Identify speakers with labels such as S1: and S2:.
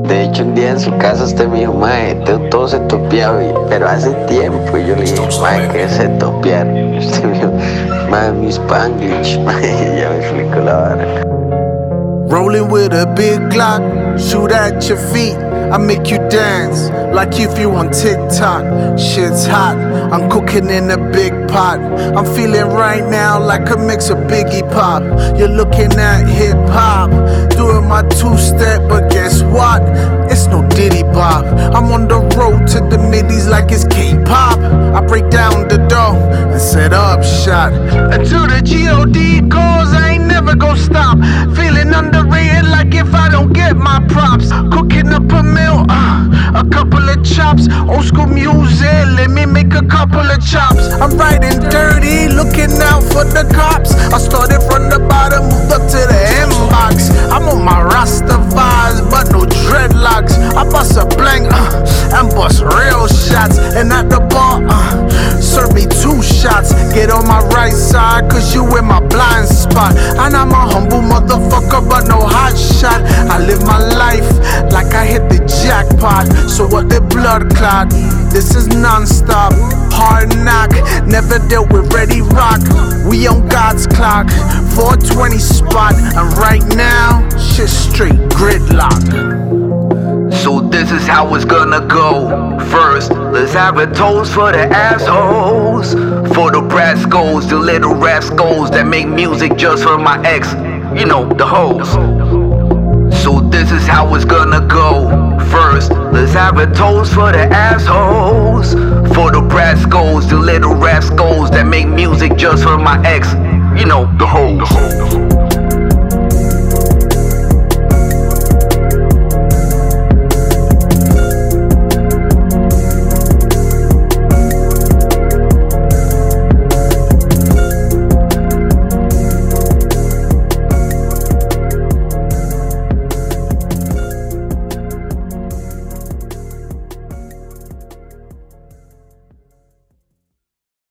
S1: De hecho, un día en su casa usted me dijo, mae, todo se topeaba, pero hace tiempo. Y yo le dije, mae, ¿qué es se topear? Y usted me dijo, mae, mi Spanglish, mae, ya me explicó la vara.
S2: Rolling with a big Glock, shoot at your feet. I make you dance like if you on TikTok. Shit's hot, I'm cooking in a big pot. I'm feeling right now like a mix of Biggie Pop. You're looking at hip hop, doing my two-step, but guess what? It's no Diddy Bop. I'm on the road to the middies like it's K-pop. I break down the dough and set up shot. Until the G.O.D. calls, I ain't never gon' stop. Feeling underrated like if I don't get my props. Cooking up a meal, a couple of chops. Old school music, let me make a couple of chops. I'm riding dirty, looking out for the cops. I started from the bottom, moved up to the inbox. I'm on my Rasta vibes, but no dreadlocks. I bust a blank, and bust real shots. And at the bar, serve me 2 shots. Get on my right side, cause you in my blind spot. And I'm a humble motherfucker, but no hot shot. I live my life like I hit the jackpot. So what the blood clot? This is non-stop, hard knock. Never dealt with Ready Rock. We on God's clock, 420 spot. And right now, shit straight gridlock.
S3: So this is how it's gonna go. First, let's have a toast for the assholes, for the rascals, the little rascals that make music just for my ex, you know, the hoes. So this is how it's gonna go. First, let's have a toast for the assholes, for the rascals, the little rascals that make music just for my ex, you know, the hoes.